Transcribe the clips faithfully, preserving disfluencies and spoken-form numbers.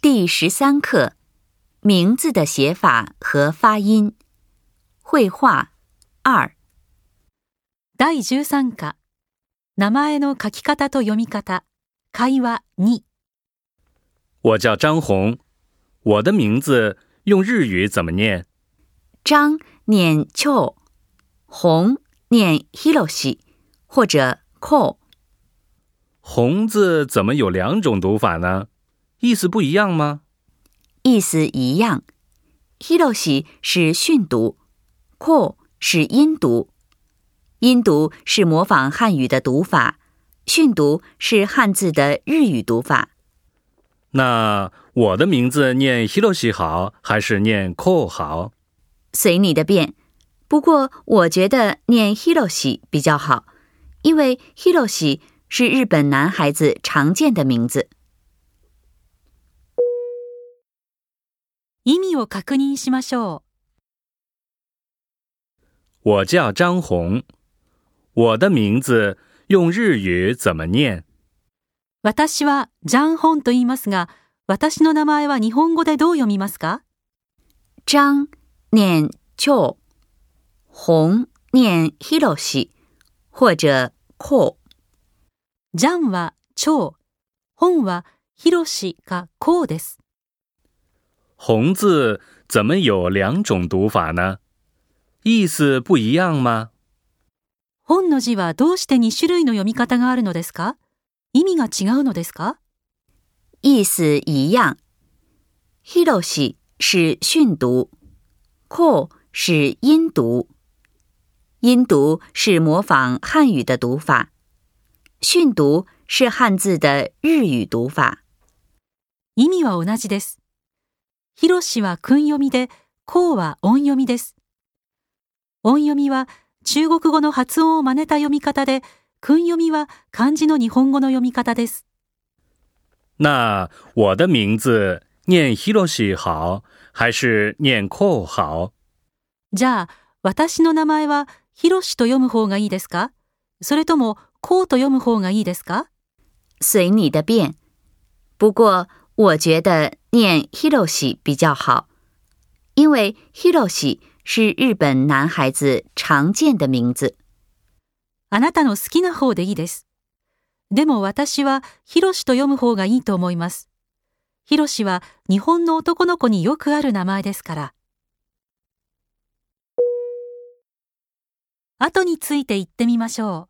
第十三课，名字的写法和发音。绘画二。 だいじゅうさん課、名前の書き方と読み方、会話に。 我叫张红，我的名字用日语怎么念？ 张念秋，红念 Hiroshi 或者 Ko。 红字怎么有两种读法呢？意思不一样吗？ 意思一样。Hiroshi 是训读， Ko 是音读。音读是模仿汉语的读法，训读是汉字的日语读法。 那我的名字念 Hiroshi 好，还是念 Ko 好？ 随你的便，不过我觉得念 Hiroshi 比较好，因为 Hiroshi 是日本男孩子常见的名字。 意味を確認しましょう。 我叫张红，我的名字用日语怎么念？ 私はジャンホンと言いますが、私の名前は日本語でどう読みますか？ 张念秋，红念 Hiroshi 或者 Ko。 ジャンは超、本はヒロシかコウです。 红字怎么有两种读法呢？意思不一样吗？ 本の字はどうしてに種類の読み方があるのですか？意味が違うのですか？ 意思一样。Hiroshi 是训读， Ko 是音读。音读是模仿汉语的读法，训读是汉字的日语读法。 意味は同じです。ヒロシは訓読みで、コウは音読みです。音読みは中国語の発音を真似た読み方で、訓読みは漢字の日本語の読み方です。 那我的名字念 Hiroshi 好，还是念 Ko 好？ じゃあ、私の名前はヒロシと読む方がいいですか？それともコウと読む方がいいですか？ 随你的便。不過我觉得念 Hiroshi 比较好，因为 Hiroshi 是日本男孩子常见的名字。 あなたの好きな方でいいです。でも私はヒロシと読む方がいいと思います。ヒロシは日本の男の子によくある名前ですから。後について言ってみましょ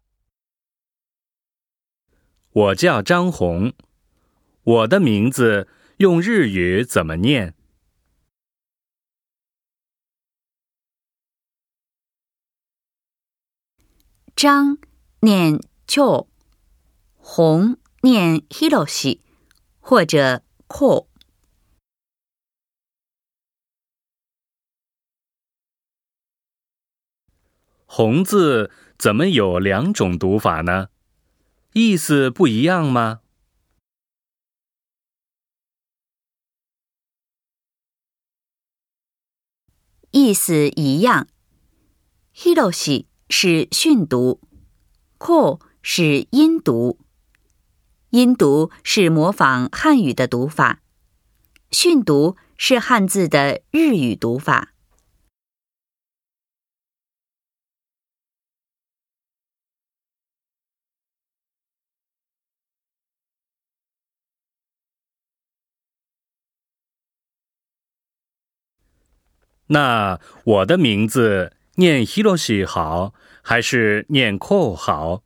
う。我叫张红，我的名字用日语怎么念？ 张念秋，红念 Hiroshi 或者 Ko。 红字怎么有两种读法呢？意思不一样吗？ 意思一样。Hiroshi 是训读， Ko 是音读。音读是模仿汉语的读法，训读是汉字的日语读法。 那我的名字念 Hiroshi 好，还是念 Ko 好？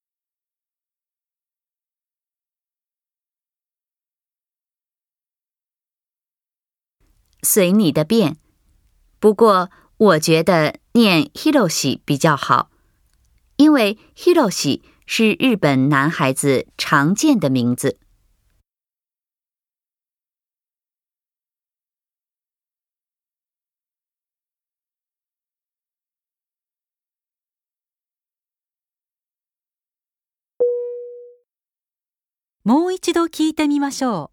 随你的便。不过我觉得念 Hiroshi 比较好，因为 Hiroshi 是日本男孩子常见的名字。 もう一度聞いてみましょ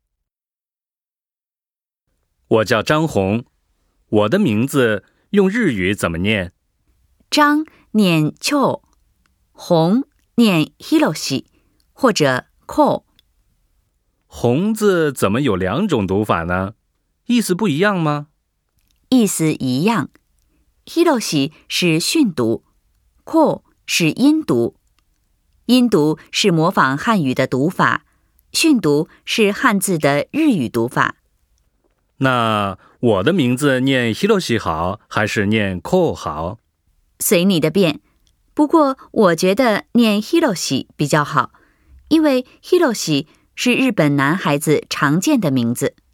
う。我叫张红，我的名字用日语怎么念？ 张念秋，红念 Hiroshi 或者 Ko。 红字怎么有两种读法呢？意思不一样吗？ 意思一样。Hiroshi 是训读，ko 是音读。音读是模仿汉语的读法，训读是汉字的日语读法。 那我的名字念 Hiroshi 好，还是念 ko 好？ 随你的便。不过我觉得念 Hiroshi 比较好，因为 Hiroshi 是日本男孩子常见的名字。